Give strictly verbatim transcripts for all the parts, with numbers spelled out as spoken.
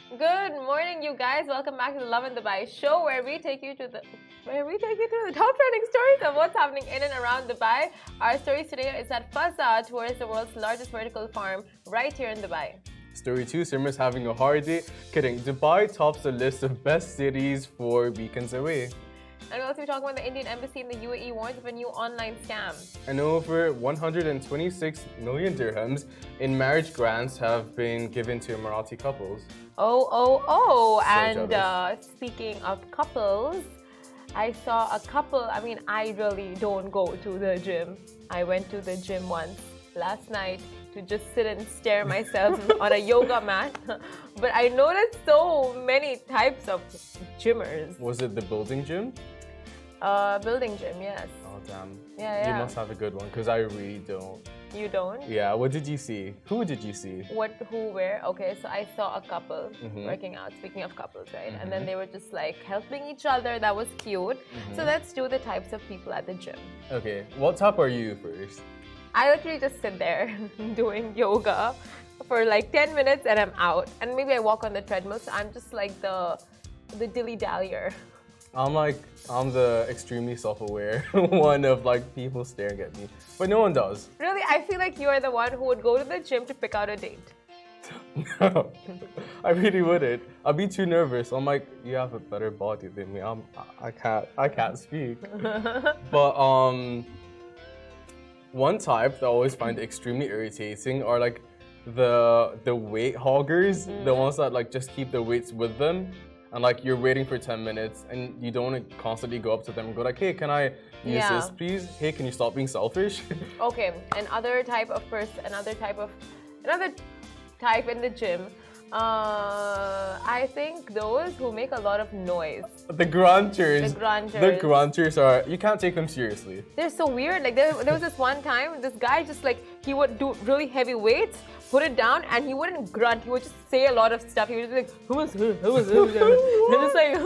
Good morning, you guys. Welcome back to the Love in Dubai show, where we take you to the where we take you to the top trending stories of what's happening in and around Dubai. Our story today is that Fazza tours the world's largest vertical farm right here in Dubai. Story two, Simra's having a hard day. Kidding. Dubai tops the list of best cities for weekends away. And we'll also be talking about the Indian embassy in the U A E warns of a new online scam. And over one hundred twenty-six million dirhams in marriage grants have been given to Emirati couples. Oh, oh, oh. So and uh, speaking of couples, I saw a couple. I mean, I really don't go to the gym. I went to the gym once last night to just sit and stare myself on a yoga mat. But I noticed so many types of gymmers. Was it the building gym? Uh, building gym, yes. Oh, damn. Yeah, yeah. You must have a good one, because I really don't. You don't? Yeah, what did you see? Who did you see? What, who, where? Okay, so I saw a couple Mm-hmm. working out, speaking of couples, right? Mm-hmm. And then they were just like helping each other. That was cute. Mm-hmm. So let's do the types of people at the gym. Okay, what type are you first? I literally just sit there doing yoga for like ten minutes and I'm out. And maybe I walk on the treadmill, so I'm just like the the dilly-dallier. I'm like, I'm the extremely self-aware one of like people staring at me. But no one does. Really, I feel like you're the one who would go to the gym to pick out a date. No, I really wouldn't. I'd be too nervous. I'm like, you have a better body than me. I'm, I can't, I can't speak. But um, one type that I always find extremely irritating are like the the weight hoggers, Mm. the ones that like just keep the weights with them. And like you're waiting for ten minutes and you don't want to constantly go up to them and go like, hey, can I use Yeah. this please? Hey, can you stop being selfish? Okay, another type of person, another type of, another type in the gym. Uh, I think those who make a lot of noise. The grunters. The grunters. The grunters are, you can't take them seriously. They're so weird. Like there, there was this one time, this guy just like, he would do really heavy weights, put it down, and he wouldn't grunt. He would just say a lot of stuff. He would just be like, who was who? Who was who? And it's like,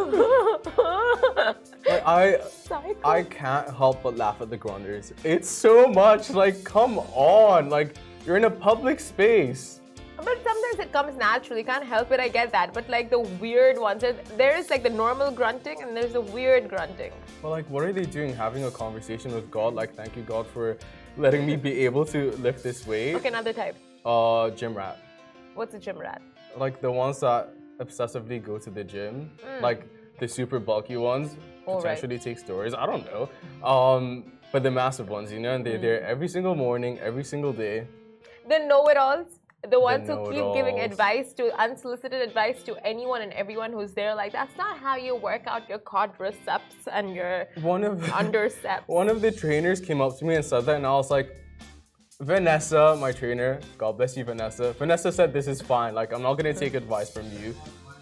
Like I, Psycho. I can't help but laugh at the grunters. It's so much. Like, come on. Like, you're in a public space. But sometimes it comes naturally. You can't help it. I get that. But like the weird ones, there- there is like the normal grunting and there's the weird grunting. Well, like, what are they doing? Having a conversation with God? Like, thank you, God, for letting me be able to lift this weight. Okay, another type. Uh, gym rat. What's a gym rat? Like the ones that obsessively go to the gym. Like the super bulky ones. All right. Potentially take stories. I don't know. Um, but the massive ones, you know, and they're there every single morning, every single day. The know-it-alls. The ones who keep giving know-it-alls. advice to unsolicited advice to anyone and everyone who's there. Like, that's not how you work out your quadriceps and your One of underceps. one of the trainers came up to me and said that, and I was like, Vanessa, my trainer, God bless you, Vanessa. Vanessa said this is fine. Like, I'm not gonna take advice from you.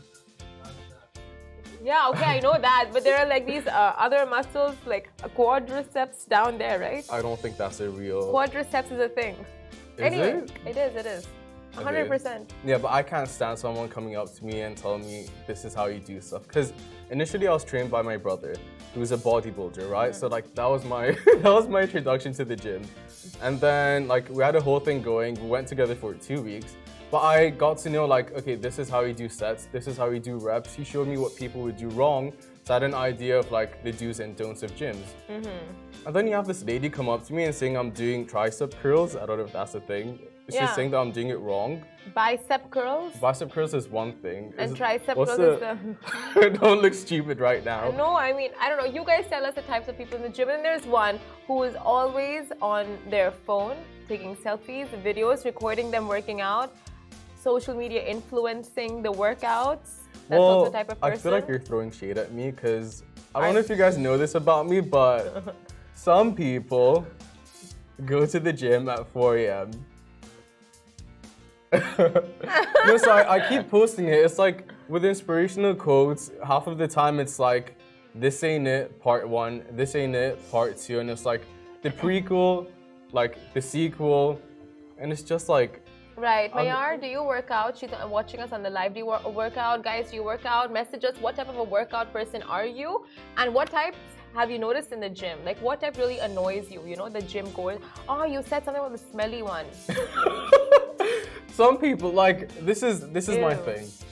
Yeah, okay, I know that. But there are like these uh, other muscles, like a quadriceps down there, right? I don't think that's a real. Quadriceps is a thing. Is anyway, it? it is, it is. one hundred percent. Yeah, but I can't stand someone coming up to me and telling me this is how you do stuff. Because initially I was trained by my brother, who's a bodybuilder, right? So like that was my that was my introduction to the gym. And then like we had a whole thing going. We went together for two weeks. But I got to know like, okay, this is how you do sets. This is how you do reps. He showed me what people would do wrong. So I had an idea of like the do's and don'ts of gyms. Mm-hmm. And then you have this lady come up to me and saying I'm doing tricep curls. I don't know if that's a thing. She's Yeah. saying that I'm doing it wrong. Bicep curls. Bicep curls is one thing. And Is- tricep what's curls is the... Don't look stupid right now. No, I mean, I don't know. You guys tell us the types of people in the gym. And there's one who is always on their phone, taking selfies, videos, recording them working out, social media influencing the workouts. That's well, also the type of I person. feel like you're throwing shade at me because I don't I- know if you guys know this about me, but some people go to the gym at four a m No, so I, I keep posting it. It's like with inspirational quotes, half of the time it's like, this ain't it, part one, this ain't it, part two, and it's like the prequel, like the sequel, and it's just like, Right. Um, Mayar, do you work out? She's uh, watching us on the live. Do you wor- work out? Guys, do you work out? Message us. What type of a workout person are you? And what types have you noticed in the gym? Like, what type really annoys you? You know, the gym goers. Oh, you said something about the smelly one. some people like this is this is my Ew. thing.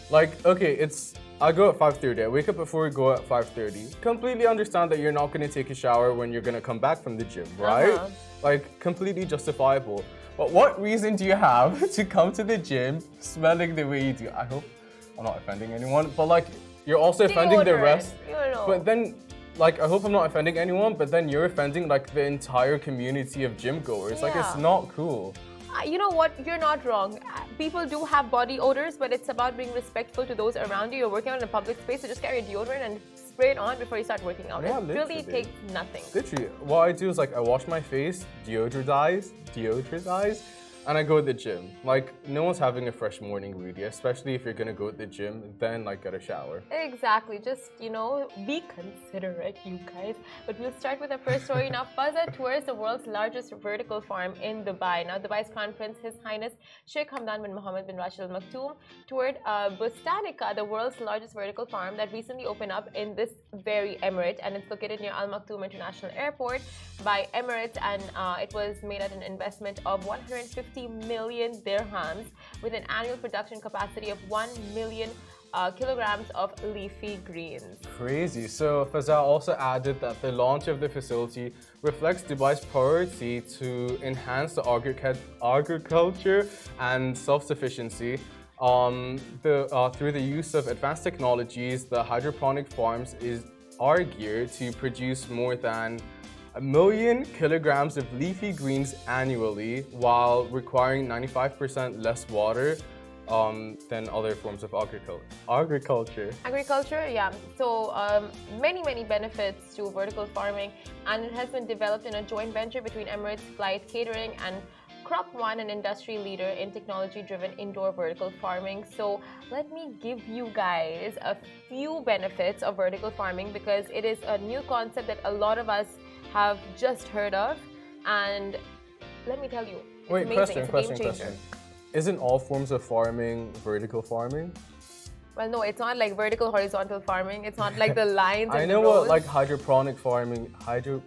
Like, okay, it's I go at five thirty. I wake up before we go at five thirty. Completely understand that you're not going to take a shower when you're going to come back from the gym, right? Uh-huh. Like, completely justifiable. But what reason do you have to come to the gym smelling the way you do? I hope I'm not offending anyone, but like, you're also offending the Deodorant, rest. you know. But then, like, I hope I'm not offending anyone, but then you're offending like the entire community of gym goers. Like, it's Yeah. not cool. Uh, You know what? You're not wrong. Uh, People do have body odors, but it's about being respectful to those around you. You're working out in a public space, so just carry a deodorant and spray it on before you start working out. Yeah, it really literally. takes nothing. Literally, what I do is like I wash my face, deodorize, deodorize, and I go to the gym. Like, no one's having a fresh morning really, especially if you're gonna go to the gym, then like get a shower. Exactly. Just, you know, be considerate, you guys. But we'll start with our first story now. Fazza tours the world's largest vertical farm in Dubai. Now, Dubai's Crown Prince, His Highness Sheikh Hamdan bin Mohammed bin Rashid Al Maktoum, toured uh, Bustanica, the world's largest vertical farm that recently opened up in this very emirate, and it's located near Al Maktoum International Airport by Emirates, and uh, it was made at an investment of one hundred fifty million dirhams with an annual production capacity of one million uh, kilograms of leafy greens. Crazy. So Fazza also added that the launch of the facility reflects Dubai's priority to enhance the agric- agriculture and self-sufficiency. Um, the, uh, through the use of advanced technologies, the hydroponic farms is are geared to produce more than a million kilograms of leafy greens annually while requiring ninety-five percent less water um, than other forms of agricul- agriculture. Agriculture, yeah. So um, many, many benefits to vertical farming, and it has been developed in a joint venture between Emirates Flight Catering and Crop One, an industry leader in technology-driven indoor vertical farming. So let me give you guys a few benefits of vertical farming because it is a new concept that a lot of us have just heard of, and let me tell you, it's Wait, amazing. question, It's a question, game changer. question. Isn't all forms of farming vertical farming? Well, no, it's not like vertical horizontal farming. It's not like the lines. I and know the rows. what like hydroponic farming, hydro,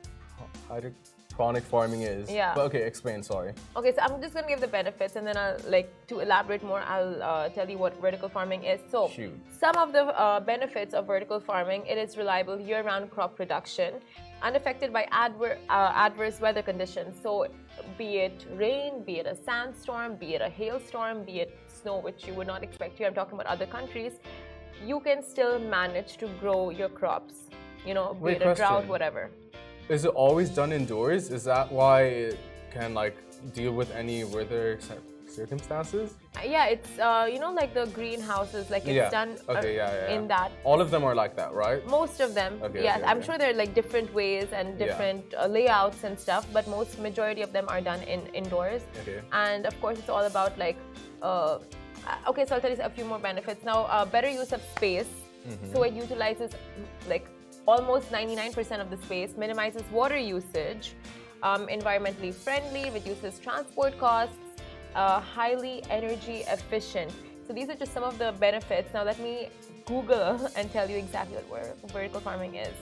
hydroponic farming is. Yeah. But okay, explain. Sorry. Okay, so I'm just gonna give the benefits, and then I'll like to elaborate more. I'll uh, tell you what vertical farming is. So, Shoot. some of the uh, benefits of vertical farming: it is reliable year-round crop production, unaffected by adver- uh, adverse weather conditions. So, be it rain, be it a sandstorm, be it a hailstorm, be it snow, which you would not expect here. I'm talking about other countries. You can still manage to grow your crops. You know, be Wait, it a drought, question. whatever. Is it always done indoors? Is that why it can like deal with any weather cir- circumstances? Uh, Yeah, it's uh, you know like the greenhouses, like it's Yeah. done uh, Okay, yeah, yeah, in yeah. that. All of them are like that, right? Most of them, Okay, yes. okay, I'm okay. sure there are like different ways and different uh, layouts and stuff, but most majority of them are done in indoors. Okay. And of course, it's all about like, uh, uh, okay, so I'll tell you a few more benefits. Now, uh, better use of space. Mm-hmm. So it utilizes like almost ninety-nine percent of the space, minimizes water usage, um, environmentally friendly, reduces transport costs, uh, highly energy efficient. So these are just some of the benefits. Now let me Google and tell you exactly what ver- vertical farming is.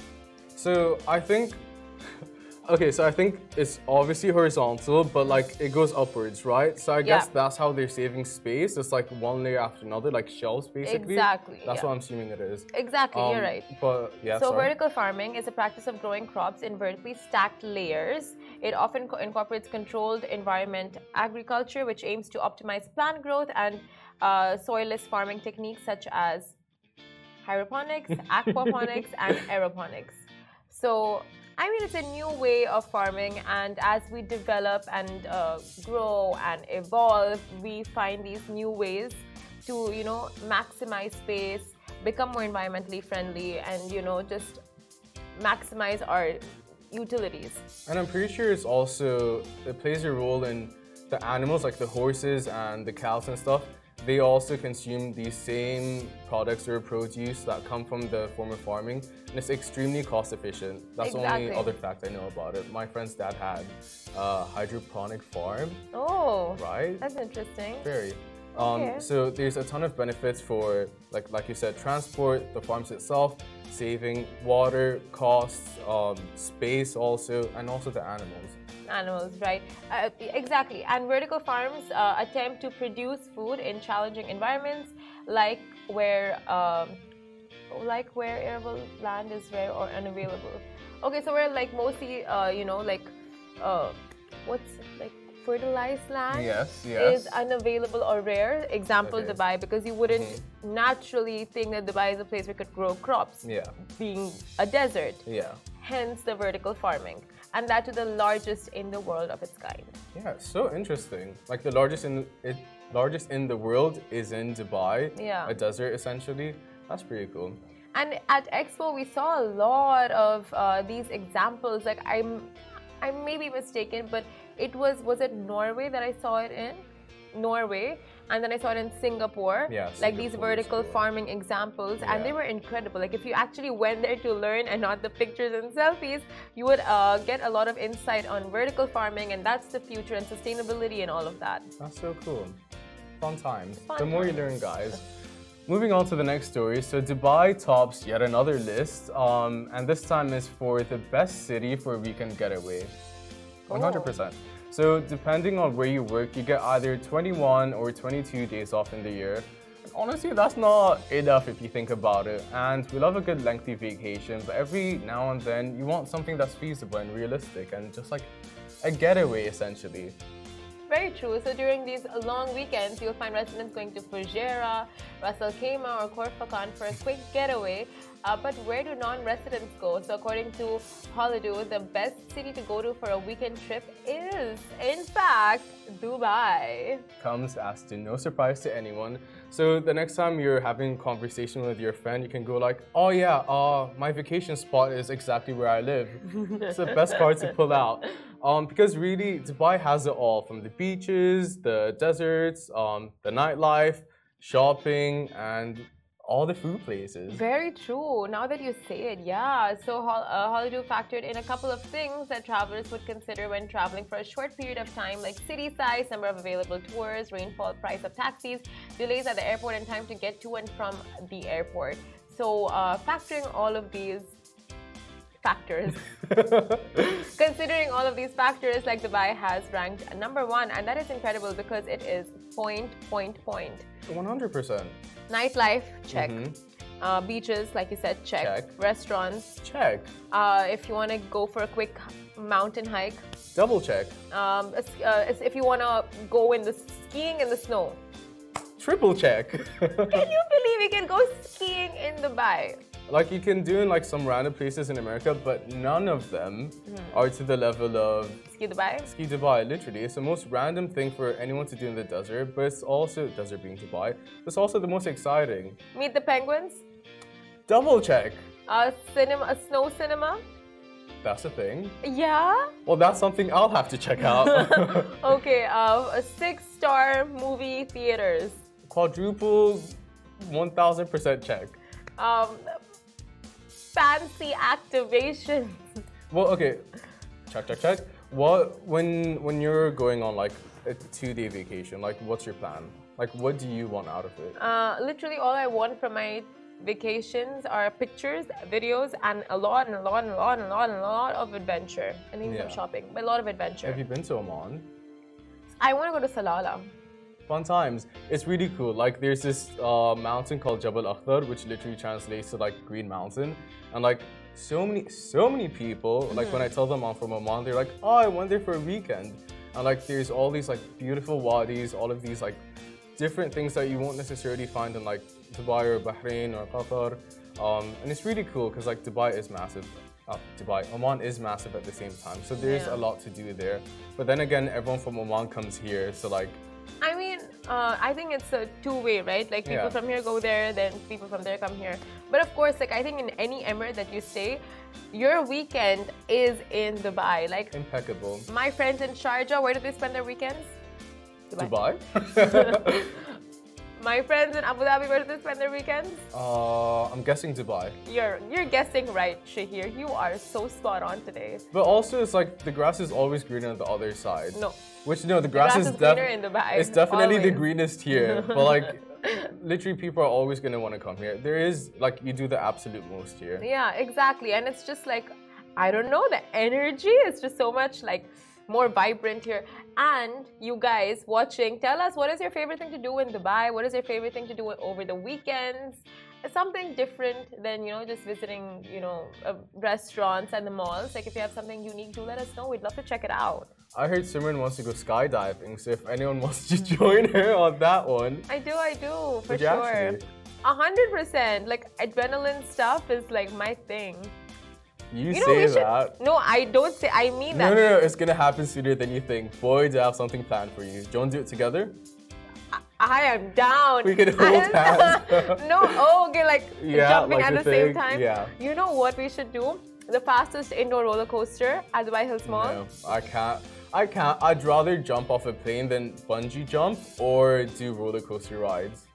So I think, okay, so I think it's obviously horizontal, but like it goes upwards, right? So I guess Yeah. that's how they're saving space. It's like one layer after another, like shelves basically. Exactly, That's yeah. what I'm assuming it is. Exactly, Um, you're right. But yeah, So sorry. vertical farming is a practice of growing crops in vertically stacked layers. It often co- incorporates controlled environment agriculture, which aims to optimize plant growth and uh, soilless farming techniques such as hydroponics, aquaponics, and aeroponics. So, I mean, it's a new way of farming, and as we develop and uh, grow and evolve, we find these new ways to, you know, maximize space, become more environmentally friendly, and, you know, just maximize our utilities. And I'm pretty sure it's also, it plays a role in the animals, like the horses and the cows and stuff. They also consume these same products or produce that come from the form of farming, and it's extremely cost efficient. That's the Exactly. only other fact I know about it. My friend's dad had a hydroponic farm, Oh, right? that's interesting. Very. Um, Okay. So there's a ton of benefits for, like like you said, transport, the farms itself, saving water, costs, um, space also, and also the animals. Animals, right? Uh, exactly. And vertical farms uh, attempt to produce food in challenging environments like where um, like where arable land is rare or unavailable. Okay, so we're like mostly uh, you know like uh, what's like fertilized land Yes, yes. is unavailable or rare. Example, Okay. Dubai, because you wouldn't Mhm. naturally think that Dubai is a place where you could grow crops, Yeah, being a desert. yeah. Hence the vertical farming, and that to the largest in the world of its kind. Yeah, it's so interesting. Like the largest in it, largest in the world is in Dubai. Yeah. A desert essentially. That's pretty cool. And at Expo, we saw a lot of uh, these examples. Like I'm, I may be mistaken, but it was was it Norway that I saw it in? Norway, and then I saw it in Singapore. Yeah, like these Singapore is vertical cool. farming examples, and they Yeah. were incredible. Like if you actually went there to learn and not the pictures and selfies, you would uh, get a lot of insight on vertical farming, and that's the future and sustainability and all of that. That's so cool. Fun times. Fun the more you times. learn, guys. Moving on to the next story. So Dubai tops yet another list, um, and this time is for the best city for a weekend getaway. one hundred percent. So depending on where you work, you get either twenty-one or twenty-two days off in the year. And honestly, that's not enough if you think about it. And we love a good lengthy vacation, but every now and then you want something that's feasible and realistic and just like a getaway essentially. Very true. So during these long weekends, you'll find residents going to Fujairah, Ras Al Khaimah, or Khor Fakkan for a quick getaway. Uh, but where do non-residents go? So according to Holido, the best city to go to for a weekend trip is, in fact, Dubai. Comes as to no surprise to anyone. So the next time you're having a conversation with your friend, you can go like, oh yeah, uh, my vacation spot is exactly where I live. It's the best part to pull out. Um, because really, Dubai has it all, from the beaches, the deserts, um, the nightlife, shopping, and all the food places. Very true. Now that you say it, yeah. So Hol- uh, Holido factored in a couple of things that travelers would consider when traveling for a short period of time, like city size, number of available tours, rainfall, price of taxis, delays at the airport, and time to get to and from the airport. So uh, factoring all of these factors, considering all of these factors, like Dubai has ranked number one, and that is incredible because it is point, point, point. one hundred percent. Nightlife, check. Mhm. Uh, beaches, like you said, check. Check. Restaurants. Check. Uh, if you want to go for a quick mountain hike. Double check. Um, it's- uh, it's if you want to go in the skiing in the snow. Triple check. Can you believe you can go skiing in Dubai? Like you can do in like some random places in America, but none of them are to the level of Ski Dubai? Ski Dubai. Literally, it's the most random thing for anyone to do in the desert, but it's also desert being Dubai. It's also the most exciting. Meet the penguins? Double check. Uh, cinema, a snow cinema? That's a thing. Yeah? Well, that's something I'll have to check out. Okay, uh, a six-star movie theaters. Quadruple, one thousand percent check. Um, fancy activation. Well, okay, check, check, check. What when when you're going on like a two-day vacation, like what's your plan? Like, what do you want out of it? Uh, literally, all I want from my vacations are pictures, videos, and a lot and a lot and a lot and a lot and a lot of adventure. And even some Yeah. shopping, but a lot of adventure. Have you been to Oman? I want to go to Salalah. Fun times. It's really cool. Like there's this uh, mountain called Jabal Akhdar, which literally translates to like Green Mountain, and like so many, so many people. Like when I tell them I'm from Oman, they're like, "Oh, I went there for a weekend," and like there's all these like beautiful wadis, all of these like different things that you won't necessarily find in like Dubai or Bahrain or Qatar, um, and it's really cool because like Dubai is massive. Uh, Dubai, Oman is massive at the same time, so there's Yeah. a lot to do there. But then again, everyone from Oman comes here, so like. I mean, uh, I think it's a two-way, right? Like people Yeah. from here go there, then people from there come here. But of course, like I think in any emirate that you stay, your weekend is in Dubai. Like Impeccable. my friends in Sharjah, where do they spend their weekends? Dubai? My friends in Abu Dhabi, where do they spend their weekends? uh, I'm guessing Dubai. You're you're guessing right, Shahir. You are so spot on today. But also, it's like the grass is always greener on the other side. No. Which, no, the grass, grass is, is greener in Dubai, It's definitely the always. greenest here. But like, literally, people are always going to want to come here. There is, like, you do the absolute most here. Yeah, exactly. And it's just like, I don't know, the energy is just so much like more vibrant here. And you guys watching, tell us, what is your favorite thing to do in Dubai? What is your favorite thing to do over the weekends? Something different than, you know, just visiting, you know, uh, restaurants and the malls. Like, if you have something unique, do let us know. We'd love to check it out. I heard Simran wants to go skydiving, so if anyone wants to join her on that one. I do, I do, for Would you sure. actually? A hundred percent. Like, adrenaline stuff is like my thing. You, You know, say we should, that. no, I don't say, I mean No, that. no, no, it's gonna happen sooner than you think. Boy, do I have something planned for you. Do you want to do it together? I am down. We can hold hands. No, oh, okay, like Yeah, jumping like at the the same thing, time. yeah. You know what we should do? The fastest indoor roller coaster at Dubai Hills Mall. No, I can't. I can't. I'd rather jump off a plane than bungee jump or do roller coaster rides.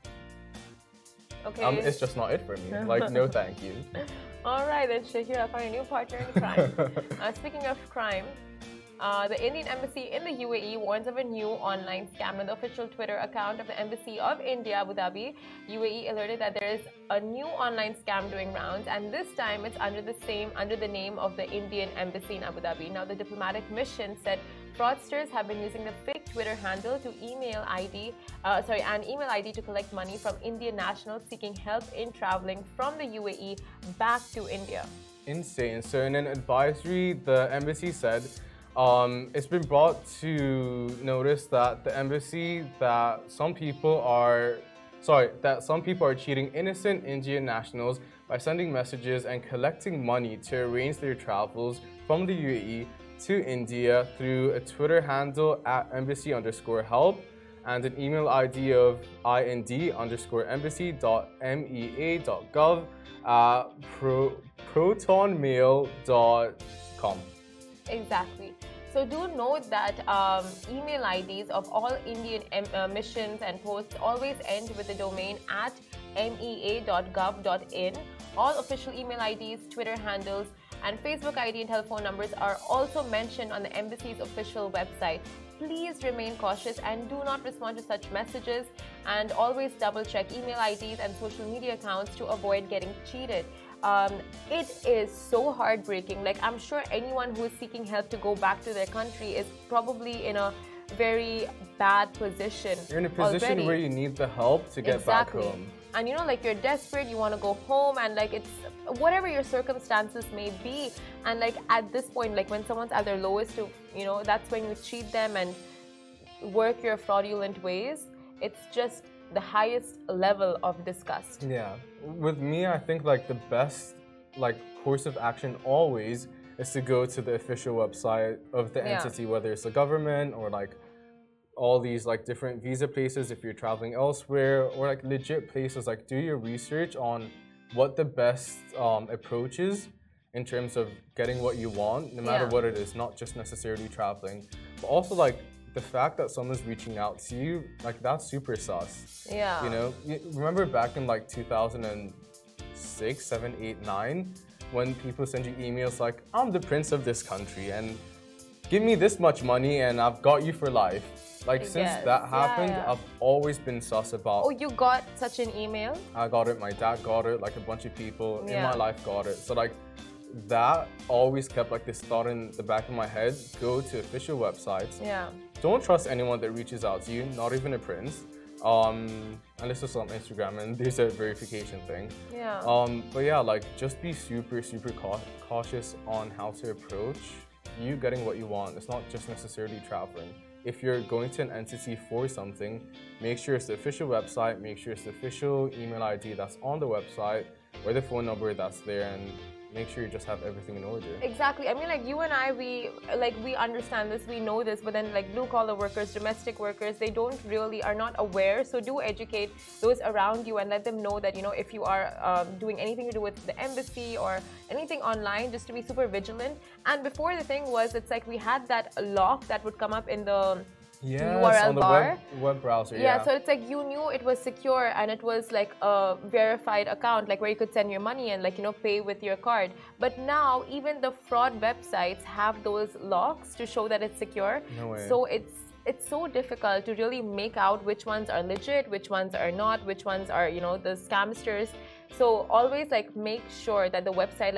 Okay. Um, it's just not it for me. Like, no thank you. All right, then Shahir, I found a new partner in crime. uh, speaking of crime, uh, the Indian Embassy in the U A E warns of a new online scam. On the official Twitter account of the Embassy of India, Abu Dhabi, U A E alerted that there is a new online scam doing rounds, and this time it's under the same under the name of the Indian Embassy in Abu Dhabi. Now, the diplomatic mission said fraudsters have been using the fake Twitter handle to email I D, uh, sorry, an email I D to collect money from Indian nationals seeking help in traveling from the U A E back to India. Insane. So in an advisory, the embassy said um, it's been brought to notice that the embassy that some people are sorry that some people are cheating innocent Indian nationals by sending messages and collecting money to arrange their travels from the U A E to India through a Twitter handle at embassy underscore help and an email I D of ind underscore embassy dot mea dot gov at pro, protonmail dot com. Exactly. So do note that um, email I Ds of all Indian em- uh, missions and posts always end with the domain at mea dot gov dot in. All official email I Ds, Twitter handles, and Facebook I D and telephone numbers are also mentioned on the embassy's official website. Please remain cautious and do not respond to such messages, and always double check email I Ds and social media accounts to avoid getting cheated. Um, it is so heartbreaking. Like, I'm sure anyone who is seeking help to go back to their country is probably in a very bad position. You're in a position already. where you need the help to get Exactly. back home. And you know, like, you're desperate, you want to go home, and like, it's whatever your circumstances may be. And like, at this point, like, when someone's at their lowest, to you know, that's when you cheat them and work your fraudulent ways. It's just the highest level of disgust. Yeah. With me, I think like the best like course of action always is to go to the official website of the Yeah. entity, whether it's the government or like all these like different visa places if you're traveling elsewhere, or like legit places. Like, do your research on what the best um, approach is in terms of getting what you want, no matter Yeah. what it is, not just necessarily traveling, but also like the fact that someone's reaching out to you, like, that's super sus. Yeah. You know, you remember back in like two thousand six, seven, eight, nine, when people send you emails like, I'm the prince of this country and give me this much money and I've got you for life. Like, since Yes. that Yeah, happened, yeah. I've always been sus about. Oh, you got such an email? I got it, my dad got it, like a bunch of people in Yeah. my life got it. So like, that always kept like this thought in the back of my head: go to official websites. Yeah. Don't trust anyone that reaches out to you, not even a prince, um, unless it's on Instagram and there's a verification thing. Yeah. Um, but yeah, like, just be super, super cau- cautious on how to approach you getting what you want. It's not just necessarily traveling. If you're going to an entity for something, make sure it's the official website, make sure it's the official email I D that's on the website, or the phone number that's there, and make sure you just have everything in order. Exactly. I mean, like, you and I, we like we understand this, we know this, but then like blue collar workers, domestic workers, they don't really are not aware. So do educate those around you and let them know that, you know, if you are um, doing anything to do with the embassy or anything online, just to be super vigilant. And before, the thing was, it's like we had that lock that would come up in the Yes, U R L on the bar. web, web browser. Yeah, Yeah, so it's like you knew it was secure and it was like a verified account, like where you could send your money and like, you know, pay with your card. But now even the fraud websites have those locks to show that it's secure. No way. So it's it's so difficult to really make out which ones are legit, which ones are not, which ones are, you know, the scamsters. So always like make sure that the website, like,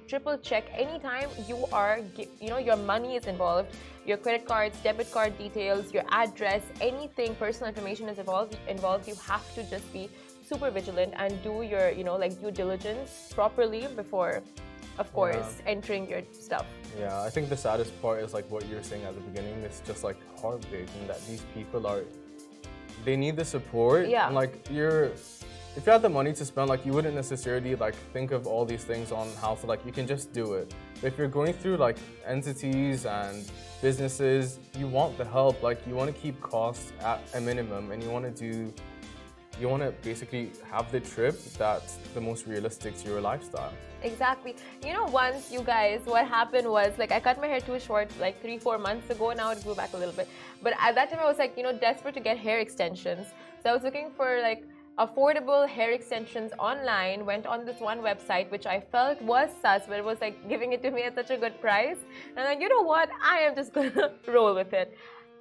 triple check anytime you are, you know, your money is involved, your credit cards, debit card details, your address, anything, personal information is involved, involved. You have to just be super vigilant and do your, you know, like due diligence properly before, of course, yeah. entering your stuff. Yeah, I think the saddest part is like what you were saying at the beginning. It's just like heartbreaking that these people are, they need the support. Yeah. And like you're, if you had the money to spend, like you wouldn't necessarily like think of all these things on how to like, you can just do it. But if you're going through like entities and businesses, you want the help. Like you want to keep costs at a minimum and you want to do, you want to basically have the trip that's the most realistic to your lifestyle. Exactly. You know, once you guys, what happened was like I cut my hair too short like three, four months ago. Now it grew back a little bit. But at that time I was like, you know, desperate to get hair extensions. So I was looking for like affordable hair extensions online, went on this one website which I felt was sus, but it was like giving it to me at such a good price. And like, you know what? I am just gonna roll with it.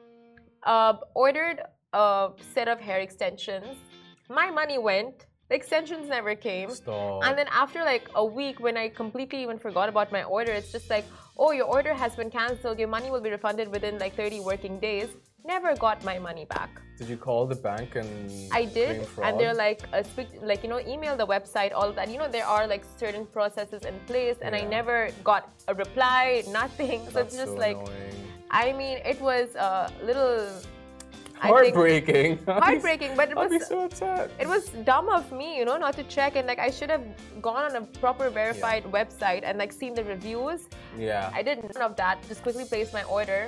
Uh, ordered a set of hair extensions. My money went. The extensions never came. Stop. And then after like a week, when I completely even forgot about my order, it's just like, oh, your order has been cancelled. Your money will be refunded within like thirty working days. Never got my money back. Did you call the bank and I did, claim fraud? and they're like, uh, speak, like you know, email the website, all of that. You know, there are like certain processes in place, and yeah. I never got a reply, nothing. So That's it's just so like, annoying. I mean, it was a little. Heartbreaking. Heartbreaking, but it was I'd be so upset. It was dumb of me, you know, not to check, and like I should have gone on a proper verified yeah. website and like seen the reviews. Yeah. I did none of that. Just quickly placed my order.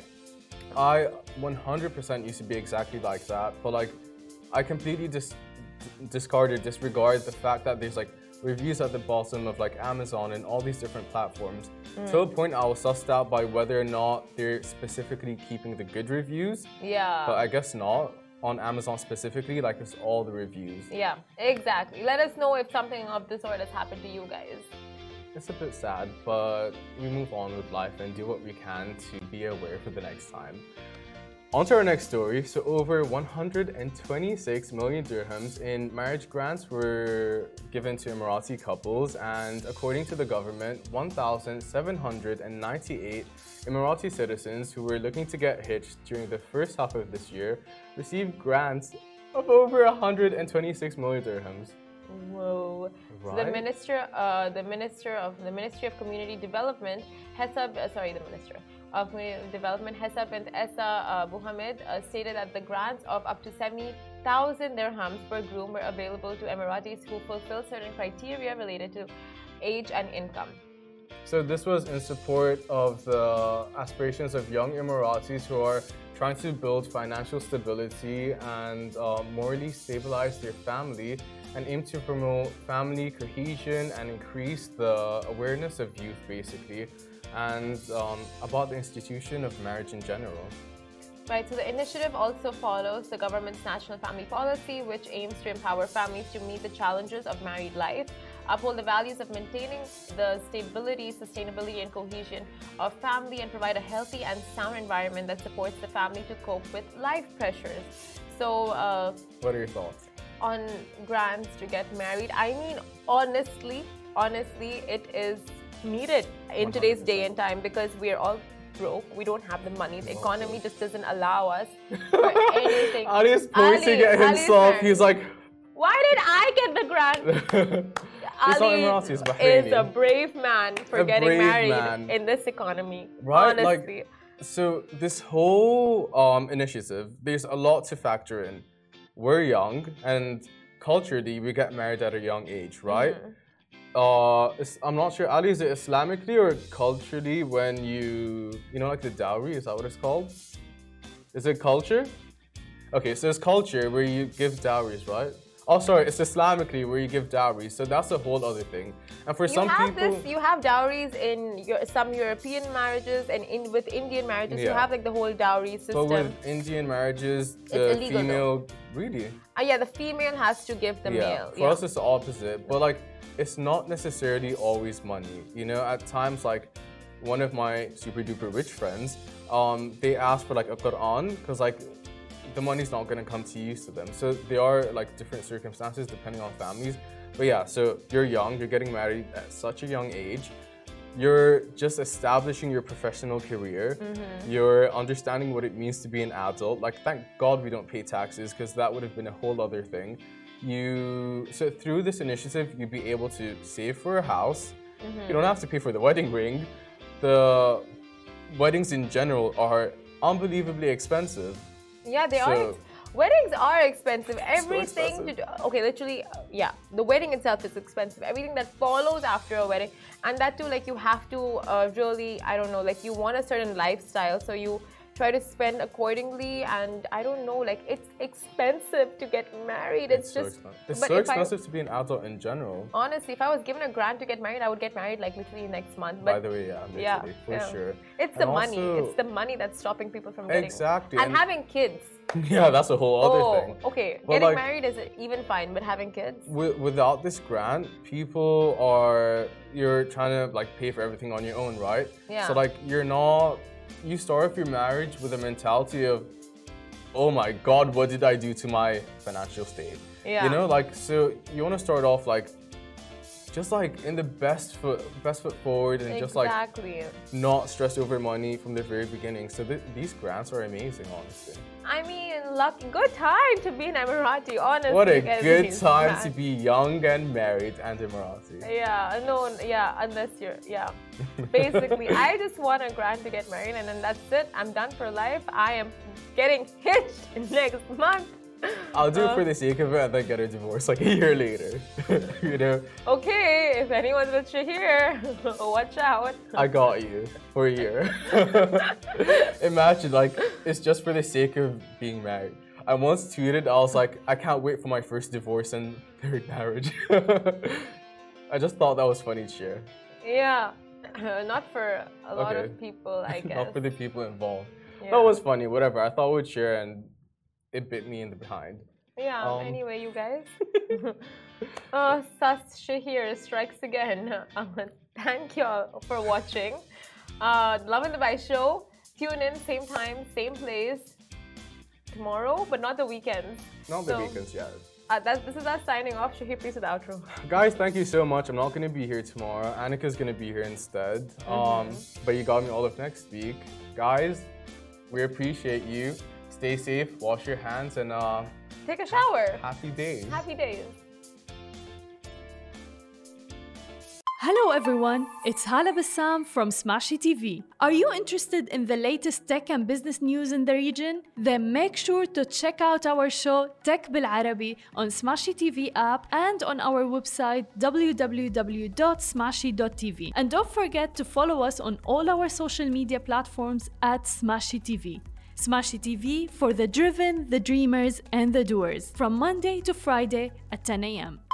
I one hundred percent used to be exactly like that, but like I completely dis discarded, disregard the fact that there's like reviews at the bottom of like Amazon and all these different platforms. Mm. To a point I was sussed out by whether or not they're specifically keeping the good reviews. Yeah. But I guess not. On Amazon specifically, like it's all the reviews. Yeah, exactly. Let us know if something of this sort has happened to you guys. It's a bit sad, but we move on with life and do what we can to be aware for the next time. On to our next story. So over one hundred twenty-six million dirhams in marriage grants were given to Emirati couples, and according to the government, one thousand seven hundred ninety-eight Emirati citizens who were looking to get hitched during the first half of this year received grants of over one hundred twenty-six million dirhams. Whoa! Right? So the minister, uh, the minister of the Ministry of Community Development, Hesab, uh, sorry, the minister of Community Development, Hesab and Essa uh, Buhamid, uh, stated that the grants of up to seventy thousand dirhams per groom were available to Emiratis who fulfill certain criteria related to age and income. So this was in support of the aspirations of young Emiratis who are trying to build financial stability and uh, morally stabilize their family, and aim to promote family cohesion and increase the awareness of youth, basically, and um, about the institution of marriage in general. Right, so the initiative also follows the government's national family policy, which aims to empower families to meet the challenges of married life, uphold the values of maintaining the stability, sustainability, and cohesion of family, and provide a healthy and sound environment that supports the family to cope with life pressures. So, uh, what are your thoughts on grants to get married? I mean, honestly, honestly, it is needed in one hundred percent today's day and time, because we are all broke. We don't have the money. The economy just doesn't allow us for anything. Ali is pointing at himself. He's like, why did I get the grant? Ali is a brave man for a getting married man. in this economy. Right? Honestly. Like, so this whole um, initiative, there's a lot to factor in. We're young, and culturally, we get married at a young age, right? Mm-hmm. Uh, I'm not sure, Ali, is it Islamically or culturally when you, you know, like the dowry, is that what it's called? Is it culture? Okay, so it's culture where you give dowries, right? Oh, sorry, it's Islamically where you give dowries, so that's a whole other thing. And for you some have people... This, you have dowries in your, some European marriages, and in with Indian marriages, yeah. you have like the whole dowry system. But with Indian marriages, the illegal, female... Though. Really? Uh, yeah, the female has to give the yeah. male. For yeah. us, it's the opposite. But like, it's not necessarily always money. You know, at times, like, one of my super duper rich friends, um, they ask for like a Quran, because like, the money's not going to come to use to them. So there are like different circumstances depending on families. But yeah, so you're young, you're getting married at such a young age. You're just establishing your professional career. Mm-hmm. You're understanding what it means to be an adult. Like, thank God we don't pay taxes, because that would have been a whole other thing. You so through this initiative, you'd be able to save for a house. Mm-hmm. You don't have to pay for the wedding ring. The weddings in general are unbelievably expensive. Yeah, they So- are. Weddings are expensive. Everything expensive. to do, okay, literally, uh, yeah. The wedding itself is expensive. Everything that follows after a wedding, and that too, like you have to uh, really, I don't know, like you want a certain lifestyle, so you try to spend accordingly. And I don't know, like it's expensive to get married. It's, It's so just, expensive. It's but so if I- expensive to be an adult in general. honestly, if I was given a grant to get married, I would get married like literally next month. But By the way, yeah, literally, yeah, for yeah. sure. It's And the money. also- It's the money that's stopping people from getting Exactly, and, and- having kids. Yeah, that's a whole other oh, thing. okay. But Getting like- married is even fine, but having kids. Wi- without this grant, people are you're trying to like pay for everything on your own, right? Yeah. So like you're not you start off your marriage with a mentality of, oh my God, what did I do to my financial state? Yeah. You know, like so you want to start off like just like in the best foot best foot forward and just like Exactly. not stress over money from the very beginning. So th- these grants are amazing, honestly. I mean, lucky, good time to be an Emirati, honestly. What a getting good these time to grants. be young and married and Emirati. Yeah, no, yeah, unless you're, yeah. Basically, I just want a grant to get married, and then that's it. I'm done for life. I am getting hitched next month. I'll do it Uh, for the sake of it and then get a divorce like a year later. You know, Okay, if anyone's with Shahir, watch out. I got you for a year. Imagine, like, it's just for the sake of being married. I once tweeted, I was like, I can't wait for my first divorce and third marriage. I just thought that was funny to share. Yeah, not for a lot Okay. of people, I guess. Not for the people involved. Yeah. That was funny, whatever. I thought we'd share and it bit me in the behind. Yeah, Um, anyway, you guys. uh, Sas Shahir strikes again. Uh, thank you all for watching. Uh, Love and the Vibe show. Tune in, same time, same place tomorrow, but not the weekends. Not the So, weekends yet. Uh, that's, this is us signing off. Shahir, please with the outro. Guys, thank you so much. I'm not going to be here tomorrow. Annika's going to be here instead. Um, but you got me all of next week. Guys, we appreciate you. Stay safe, wash your hands, and uh, Take a shower. happy days. Happy days. Hello everyone, it's Hala Bassam from Smashy T V. Are you interested in the latest tech and business news in the region? Then make sure to check out our show Tech Bil Arabi on Smashy T V app and on our website w w w dot smashy dot t v. And don't forget to follow us on all our social media platforms at Smashy T V. Smashy T V for the driven, the dreamers, and the doers from Monday to Friday at ten a m